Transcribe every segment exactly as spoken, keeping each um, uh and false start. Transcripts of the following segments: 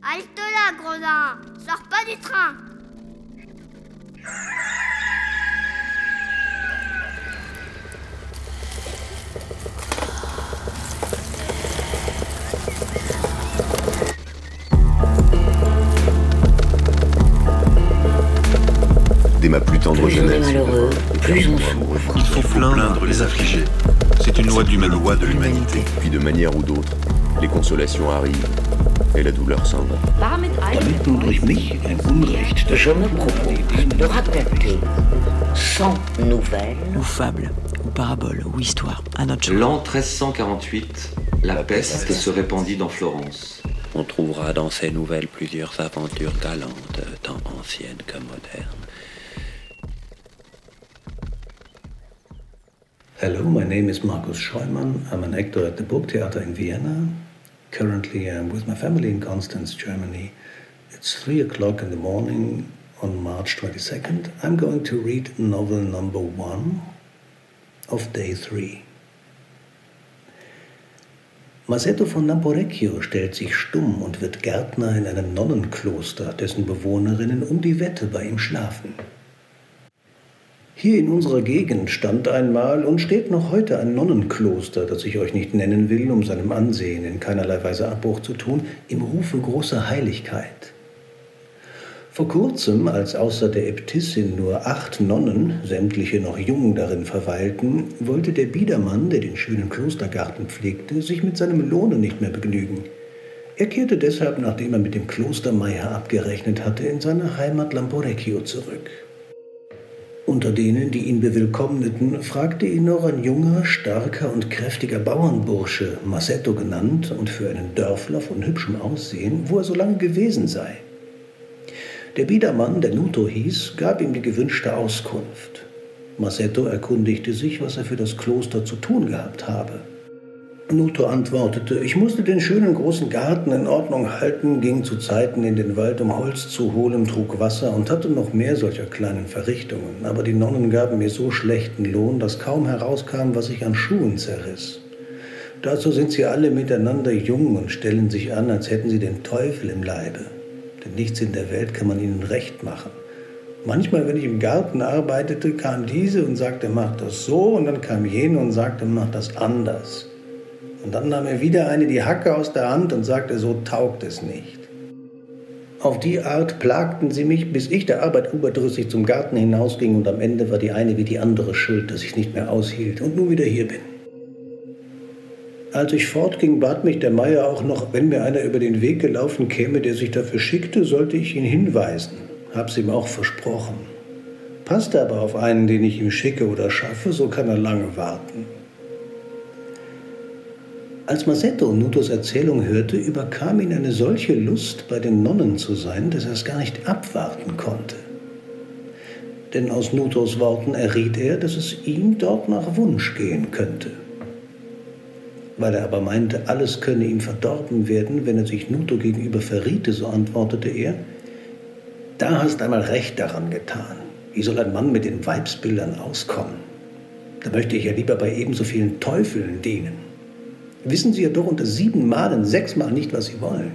Halte là, gredin. Sors pas du train. Dès ma plus tendre Plus on est jeunesse, malheureux, plus on souffre. Il faut plaindre les affligés. C'est une loi de loi de l'humanité. puis de manière ou d'autre, les consolations arrivent et la douleur s'en va. Damit nun durch mich ein Unrecht Je me propose de raconter cent nouvelles ou fables, ou paraboles, ou histoires, à notre L'an treize cent quarante-huit, la peste se répandit dans Florence. On trouvera dans ces nouvelles plusieurs aventures galantes, tant anciennes que modernes. Hello, my name is Markus Scheumann. I'm an actor at the Burgtheater in Vienna. Currently, I'm with my family in Constance, Germany. It's three o'clock in the morning on March twenty-second. I'm going to read novel number one of day three. Masetto von Lamporecchio stellt sich stumm und wird Gärtner in einem Nonnenkloster, dessen Bewohnerinnen um die Wette bei ihm schlafen. Hier in unserer Gegend stand einmal und steht noch heute ein Nonnenkloster, das ich euch nicht nennen will, um seinem Ansehen in keinerlei Weise Abbruch zu tun, im Rufe großer Heiligkeit. Vor kurzem, als außer der Äbtissin nur acht Nonnen, sämtliche noch jung, darin verweilten, wollte der Biedermann, der den schönen Klostergarten pflegte, sich mit seinem Lohne nicht mehr begnügen. Er kehrte deshalb, nachdem er mit dem Klostermeier abgerechnet hatte, in seine Heimat Lamporecchio zurück. Unter denen, die ihn bewillkommneten, fragte ihn noch ein junger, starker und kräftiger Bauernbursche, Masetto genannt und für einen Dörfler von hübschem Aussehen, wo er so lange gewesen sei. Der Biedermann, der Nuto hieß, gab ihm die gewünschte Auskunft. Masetto erkundigte sich, was er für das Kloster zu tun gehabt habe. Nuto antwortete, ich musste den schönen großen Garten in Ordnung halten, ging zu Zeiten in den Wald, um Holz zu holen, trug Wasser und hatte noch mehr solcher kleinen Verrichtungen. Aber die Nonnen gaben mir so schlechten Lohn, dass kaum herauskam, was ich an Schuhen zerriss. Dazu sind sie alle miteinander jung und stellen sich an, als hätten sie den Teufel im Leibe. Denn nichts in der Welt kann man ihnen recht machen. Manchmal, wenn ich im Garten arbeitete, kam diese und sagte, mach das so, und dann kam jene und sagte, mach das anders. Und dann nahm er wieder eine die Hacke aus der Hand und sagte, so taugt es nicht. Auf die Art plagten sie mich, bis ich der Arbeit überdrüssig zum Garten hinausging und am Ende war die eine wie die andere schuld, dass ich nicht mehr aushielt und nun wieder hier bin. Als ich fortging, bat mich der Meier auch noch, wenn mir einer über den Weg gelaufen käme, der sich dafür schickte, sollte ich ihn hinweisen. Hab's ihm auch versprochen. Passte aber auf einen, den ich ihm schicke oder schaffe, so kann er lange warten. Als Masetto Nutos Erzählung hörte, überkam ihn eine solche Lust, bei den Nonnen zu sein, dass er es gar nicht abwarten konnte. Denn aus Nutos Worten erriet er, dass es ihm dort nach Wunsch gehen könnte. Weil er aber meinte, alles könne ihm verdorben werden, wenn er sich Nuto gegenüber verriete, so antwortete er, da hast einmal recht daran getan. Wie soll ein Mann mit den Weibsbildern auskommen? Da möchte ich ja lieber bei ebenso vielen Teufeln dienen. Wissen Sie ja doch unter sieben Malen sechsmal nicht, was Sie wollen.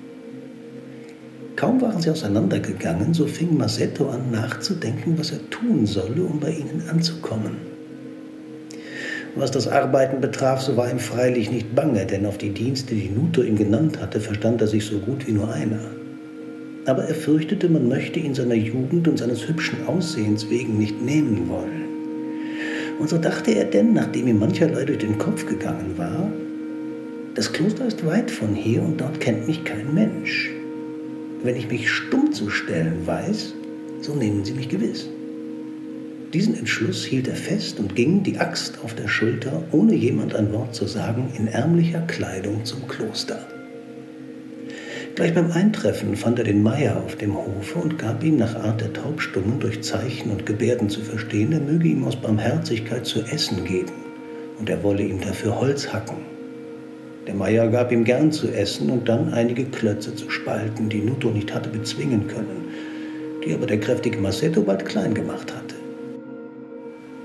Kaum waren sie auseinandergegangen, so fing Masetto an nachzudenken, was er tun solle, um bei ihnen anzukommen. Was das Arbeiten betraf, so war ihm freilich nicht bange, denn auf die Dienste, die Nuto ihm genannt hatte, verstand er sich so gut wie nur einer. Aber er fürchtete, man möchte ihn seiner Jugend und seines hübschen Aussehens wegen nicht nehmen wollen. Und so dachte er denn, nachdem ihm mancherlei durch den Kopf gegangen war, das Kloster ist weit von hier und dort kennt mich kein Mensch. Wenn ich mich stumm zu stellen weiß, so nehmen sie mich gewiss. Diesen Entschluss hielt er fest und ging, die Axt auf der Schulter, ohne jemand ein Wort zu sagen, in ärmlicher Kleidung zum Kloster. Gleich beim Eintreffen fand er den Meier auf dem Hofe und gab ihm nach Art der Taubstummen durch Zeichen und Gebärden zu verstehen, er möge ihm aus Barmherzigkeit zu essen geben und er wolle ihm dafür Holz hacken. Der Meier gab ihm gern zu essen und dann einige Klötze zu spalten, die Nuto nicht hatte bezwingen können, die aber der kräftige Masetto bald klein gemacht hatte.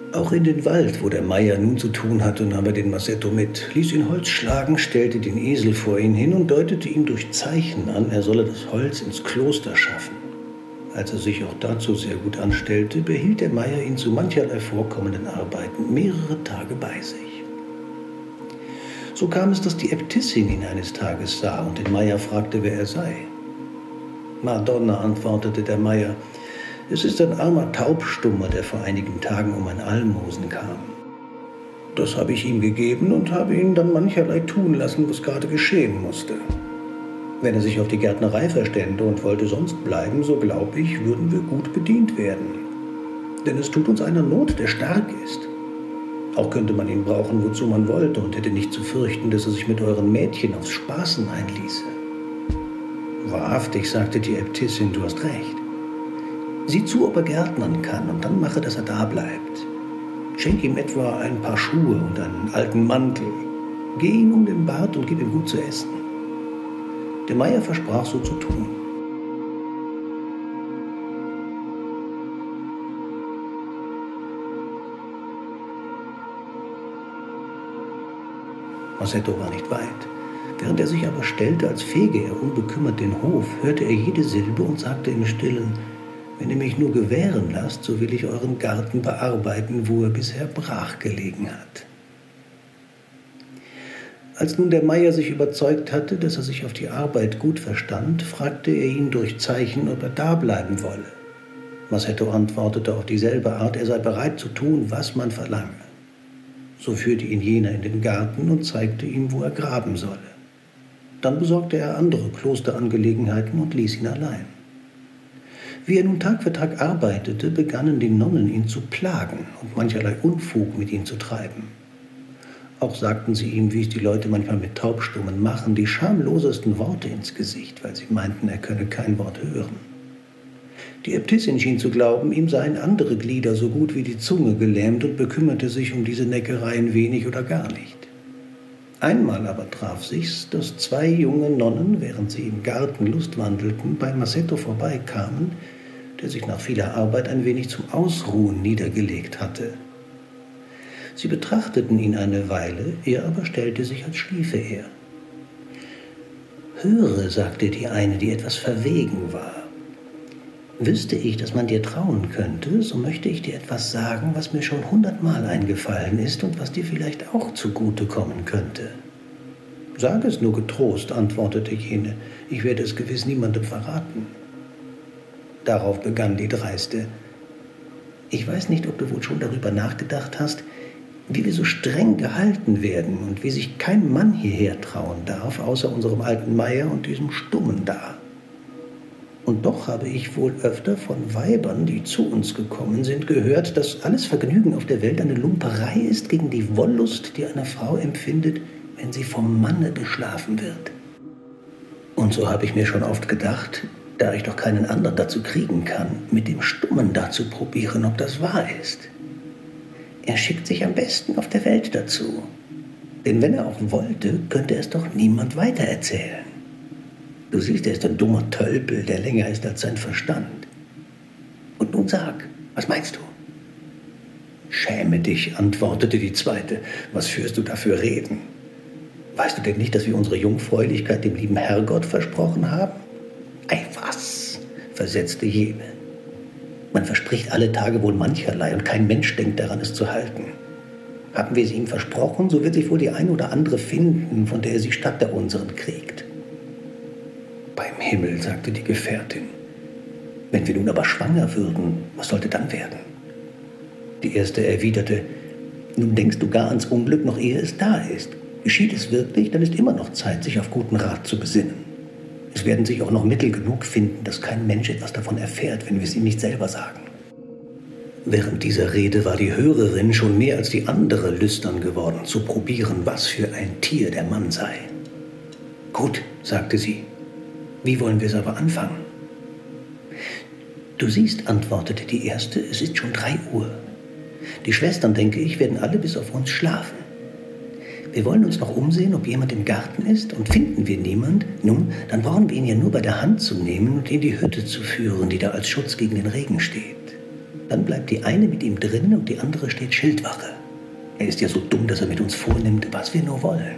Auch in den Wald, wo der Meier nun zu tun hatte, nahm er den Masetto mit, ließ ihn Holz schlagen, stellte den Esel vor ihn hin und deutete ihm durch Zeichen an, er solle das Holz ins Kloster schaffen. Als er sich auch dazu sehr gut anstellte, behielt der Meier ihn zu mancherlei vorkommenden Arbeiten mehrere Tage bei sich. So kam es, dass die Äbtissin ihn eines Tages sah und den Meier fragte, wer er sei. Madonna, antwortete der Meier, es ist ein armer Taubstummer, der vor einigen Tagen um ein Almosen kam. Das habe ich ihm gegeben und habe ihn dann mancherlei tun lassen, was gerade geschehen musste. Wenn er sich auf die Gärtnerei verstände und wollte sonst bleiben, so glaube ich, würden wir gut bedient werden. Denn es tut uns einer Not, der stark ist. Auch könnte man ihn brauchen, wozu man wollte, und hätte nicht zu fürchten, dass er sich mit euren Mädchen aufs Spaßen einließe. Wahrhaftig, sagte die Äbtissin, du hast recht. Sieh zu, ob er gärtnern kann, und dann mache, dass er da bleibt. Schenk ihm etwa ein paar Schuhe und einen alten Mantel. Geh ihn um den Bart und gib ihm gut zu essen. Der Meier versprach, so zu tun. Masetto war nicht weit. Während er sich aber stellte, als fege er unbekümmert den Hof, hörte er jede Silbe und sagte im Stillen, wenn ihr mich nur gewähren lasst, so will ich euren Garten bearbeiten, wo er bisher brach gelegen hat. Als nun der Meier sich überzeugt hatte, dass er sich auf die Arbeit gut verstand, fragte er ihn durch Zeichen, ob er da bleiben wolle. Masetto antwortete auf dieselbe Art, er sei bereit zu tun, was man verlange. So führte ihn jener in den Garten und zeigte ihm, wo er graben solle. Dann besorgte er andere Klosterangelegenheiten und ließ ihn allein. Wie er nun Tag für Tag arbeitete, begannen die Nonnen ihn zu plagen und mancherlei Unfug mit ihm zu treiben. Auch sagten sie ihm, wie es die Leute manchmal mit Taubstummen machen, die schamlosesten Worte ins Gesicht, weil sie meinten, er könne kein Wort hören. Die Äbtissin schien zu glauben, ihm seien andere Glieder so gut wie die Zunge gelähmt und bekümmerte sich um diese Neckereien wenig oder gar nicht. Einmal aber traf sich's, dass zwei junge Nonnen, während sie im Garten lustwandelten, bei Masetto vorbeikamen, der sich nach vieler Arbeit ein wenig zum Ausruhen niedergelegt hatte. Sie betrachteten ihn eine Weile, er aber stellte sich, als schliefe er. »Höre«, sagte die eine, die etwas verwegen war, »wüsste ich, dass man dir trauen könnte, so möchte ich dir etwas sagen, was mir schon hundertmal eingefallen ist und was dir vielleicht auch zugute kommen könnte.« »Sag es nur getrost«, antwortete jene, »ich werde es gewiss niemandem verraten.« Darauf begann die Dreiste, »Ich weiß nicht, ob du wohl schon darüber nachgedacht hast, wie wir so streng gehalten werden und wie sich kein Mann hierher trauen darf, außer unserem alten Meier und diesem Stummen da. Und doch habe ich wohl öfter von Weibern, die zu uns gekommen sind, gehört, dass alles Vergnügen auf der Welt eine Lumperei ist gegen die Wollust, die eine Frau empfindet, wenn sie vom Manne beschlafen wird. Und so habe ich mir schon oft gedacht, da ich doch keinen anderen dazu kriegen kann, mit dem Stummen da zu probieren, ob das wahr ist. Er schickt sich am besten auf der Welt dazu. Denn wenn er auch wollte, könnte es doch niemand weitererzählen. Du siehst, er ist ein dummer Tölpel, der länger ist als sein Verstand. Und nun sag, was meinst du? Schäme dich, antwortete die Zweite. Was führst du da für Reden? Weißt du denn nicht, dass wir unsere Jungfräulichkeit dem lieben Herrgott versprochen haben? Ei, was? Versetzte jene. Man verspricht alle Tage wohl mancherlei und kein Mensch denkt daran, es zu halten. Haben wir es ihm versprochen, so wird sich wohl die ein oder andere finden, von der er sie statt der unseren kriegt. Beim Himmel, sagte die Gefährtin. Wenn wir nun aber schwanger würden, was sollte dann werden? Die Erste erwiderte, nun denkst du gar ans Unglück, noch ehe es da ist. Geschieht es wirklich, dann ist immer noch Zeit, sich auf guten Rat zu besinnen. Es werden sich auch noch Mittel genug finden, dass kein Mensch etwas davon erfährt, wenn wir es ihm nicht selber sagen. Während dieser Rede war die Hörerin schon mehr als die andere lüstern geworden, zu probieren, was für ein Tier der Mann sei. Gut, sagte sie, wie wollen wir es aber anfangen? Du siehst, antwortete die Erste, es ist schon drei Uhr. Die Schwestern, denke ich, werden alle bis auf uns schlafen. Wir wollen uns noch umsehen, ob jemand im Garten ist, und finden wir niemand, nun, dann brauchen wir ihn ja nur bei der Hand zu nehmen und in die Hütte zu führen, die da als Schutz gegen den Regen steht. Dann bleibt die eine mit ihm drinnen und die andere steht Schildwache. Er ist ja so dumm, dass er mit uns vornimmt, was wir nur wollen.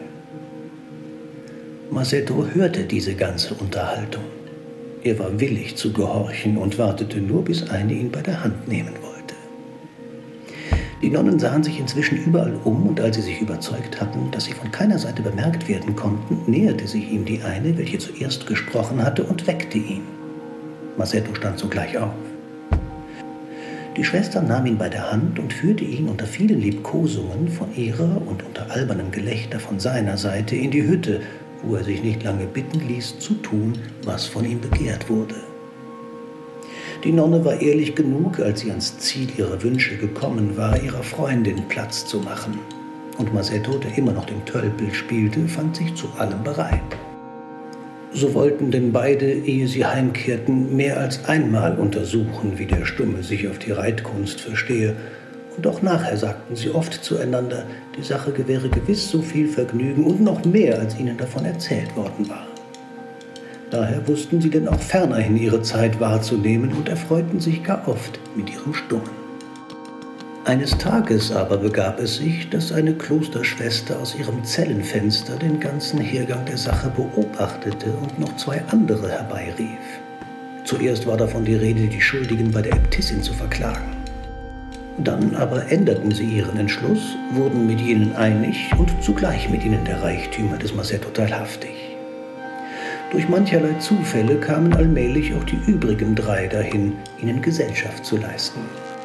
Masetto hörte diese ganze Unterhaltung. Er war willig zu gehorchen und wartete nur, bis eine ihn bei der Hand nehmen wollte. Die Nonnen sahen sich inzwischen überall um, und als sie sich überzeugt hatten, dass sie von keiner Seite bemerkt werden konnten, näherte sich ihm die eine, welche zuerst gesprochen hatte, und weckte ihn. Masetto stand sogleich auf. Die Schwester nahm ihn bei der Hand und führte ihn unter vielen Liebkosungen von ihrer und unter albernem Gelächter von seiner Seite in die Hütte, wo er sich nicht lange bitten ließ, zu tun, was von ihm begehrt wurde. Die Nonne war ehrlich genug, als sie ans Ziel ihrer Wünsche gekommen war, ihrer Freundin Platz zu machen. Und Masetto, der immer noch den Tölpel spielte, fand sich zu allem bereit. So wollten denn beide, ehe sie heimkehrten, mehr als einmal untersuchen, wie der Stumme sich auf die Reitkunst verstehe. Und auch nachher sagten sie oft zueinander, die Sache gewähre gewiss so viel Vergnügen und noch mehr, als ihnen davon erzählt worden war. Daher wussten sie denn auch fernerhin ihre Zeit wahrzunehmen und erfreuten sich gar oft mit ihrem Stummen. Eines Tages aber begab es sich, dass eine Klosterschwester aus ihrem Zellenfenster den ganzen Hergang der Sache beobachtete und noch zwei andere herbeirief. Zuerst war davon die Rede, die Schuldigen bei der Äbtissin zu verklagen. Dann aber änderten sie ihren Entschluss, wurden mit jenen einig und zugleich mit ihnen der Reichtümer des Masetto teilhaftig. Durch mancherlei Zufälle kamen allmählich auch die übrigen drei dahin, ihnen Gesellschaft zu leisten.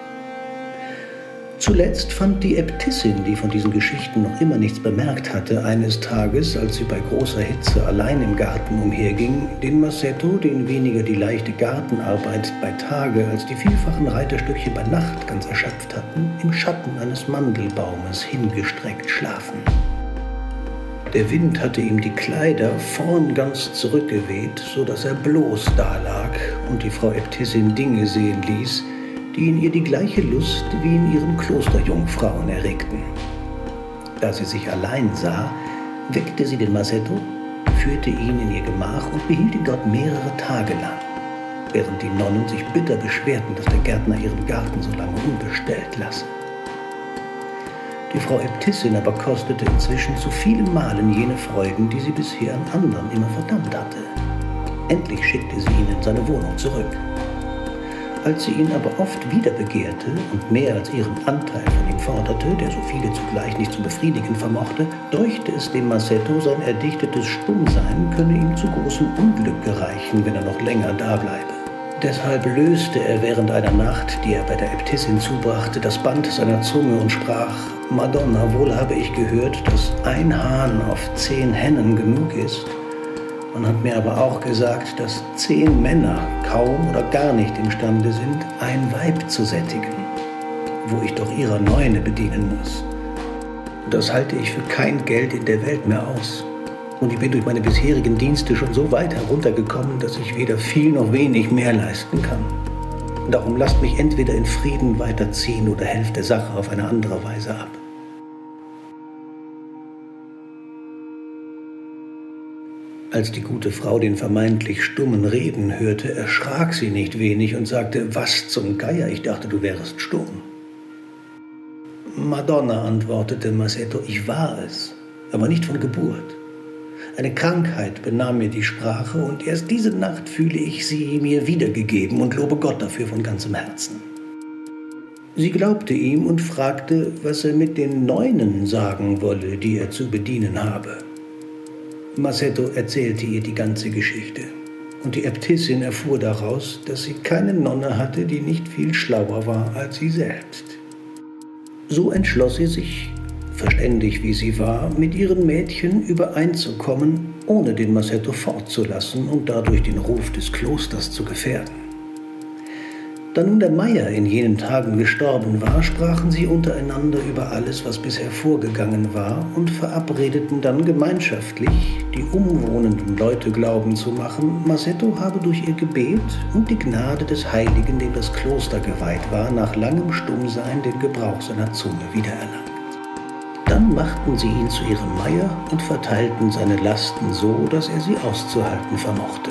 Zuletzt fand die Äbtissin, die von diesen Geschichten noch immer nichts bemerkt hatte, eines Tages, als sie bei großer Hitze allein im Garten umherging, den Masetto, den weniger die leichte Gartenarbeit bei Tage als die vielfachen Reiterstückchen bei Nacht ganz erschöpft hatten, im Schatten eines Mandelbaumes hingestreckt schlafen. Der Wind hatte ihm die Kleider vorn ganz zurückgeweht, so dass er bloß dalag und die Frau Äbtissin Dinge sehen ließ, die in ihr die gleiche Lust wie in ihren Klosterjungfrauen erregten. Da sie sich allein sah, weckte sie den Masetto, führte ihn in ihr Gemach und behielt ihn dort mehrere Tage lang, während die Nonnen sich bitter beschwerten, dass der Gärtner ihren Garten so lange unbestellt lasse. Die Frau Äbtissin aber kostete inzwischen zu vielen Malen jene Freuden, die sie bisher an anderen immer verdammt hatte. Endlich schickte sie ihn in seine Wohnung zurück. Als sie ihn aber oft wieder begehrte und mehr als ihren Anteil von ihm forderte, der so viele zugleich nicht zu befriedigen vermochte, däuchte es dem Masetto, sein erdichtetes Stummsein könne ihm zu großem Unglück gereichen, wenn er noch länger dableibe. Deshalb löste er während einer Nacht, die er bei der Äbtissin zubrachte, das Band seiner Zunge und sprach: »Madonna, wohl habe ich gehört, dass ein Hahn auf zehn Hennen genug ist. Man hat mir aber auch gesagt, dass zehn Männer kaum oder gar nicht imstande sind, ein Weib zu sättigen, wo ich doch ihrer Neune bedienen muss. Das halte ich für kein Geld in der Welt mehr aus. Und ich bin durch meine bisherigen Dienste schon so weit heruntergekommen, dass ich weder viel noch wenig mehr leisten kann. Darum lasst mich entweder in Frieden weiterziehen oder helft der Sache auf eine andere Weise ab.« Als die gute Frau den vermeintlich Stummen reden hörte, erschrak sie nicht wenig und sagte: »Was zum Geier, ich dachte, du wärest stumm.« »Madonna«, antwortete Masetto, »ich war es, aber nicht von Geburt. Eine Krankheit benahm mir die Sprache und erst diese Nacht fühle ich sie mir wiedergegeben und lobe Gott dafür von ganzem Herzen.« Sie glaubte ihm und fragte, was er mit den Neunen sagen wolle, die er zu bedienen habe. Masetto erzählte ihr die ganze Geschichte, und die Äbtissin erfuhr daraus, dass sie keine Nonne hatte, die nicht viel schlauer war als sie selbst. So entschloss sie sich, verständig wie sie war, mit ihren Mädchen übereinzukommen, ohne den Masetto fortzulassen und dadurch den Ruf des Klosters zu gefährden. Da nun der Meier in jenen Tagen gestorben war, sprachen sie untereinander über alles, was bisher vorgegangen war, und verabredeten dann gemeinschaftlich, die umwohnenden Leute glauben zu machen, Masetto habe durch ihr Gebet und die Gnade des Heiligen, dem das Kloster geweiht war, nach langem Stummsein den Gebrauch seiner Zunge wiedererlangt. Dann machten sie ihn zu ihrem Meier und verteilten seine Lasten so, dass er sie auszuhalten vermochte.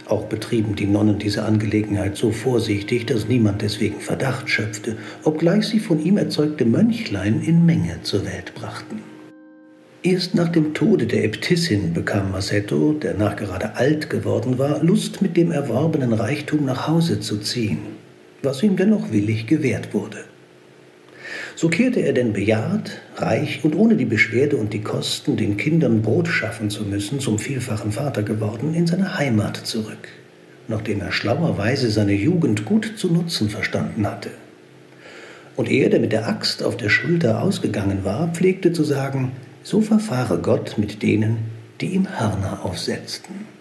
Auch betrieben die Nonnen diese Angelegenheit so vorsichtig, dass niemand deswegen Verdacht schöpfte, obgleich sie von ihm erzeugte Mönchlein in Menge zur Welt brachten. Erst nach dem Tode der Äbtissin bekam Masetto, der nachgerade alt geworden war, Lust, mit dem erworbenen Reichtum nach Hause zu ziehen, was ihm dennoch willig gewährt wurde. So kehrte er denn bejahrt, reich und ohne die Beschwerde und die Kosten, den Kindern Brot schaffen zu müssen, zum vielfachen Vater geworden, in seine Heimat zurück, nachdem er schlauerweise seine Jugend gut zu nutzen verstanden hatte. Und er, der mit der Axt auf der Schulter ausgegangen war, pflegte zu sagen: So verfahre Gott mit denen, die ihm Hörner aufsetzten.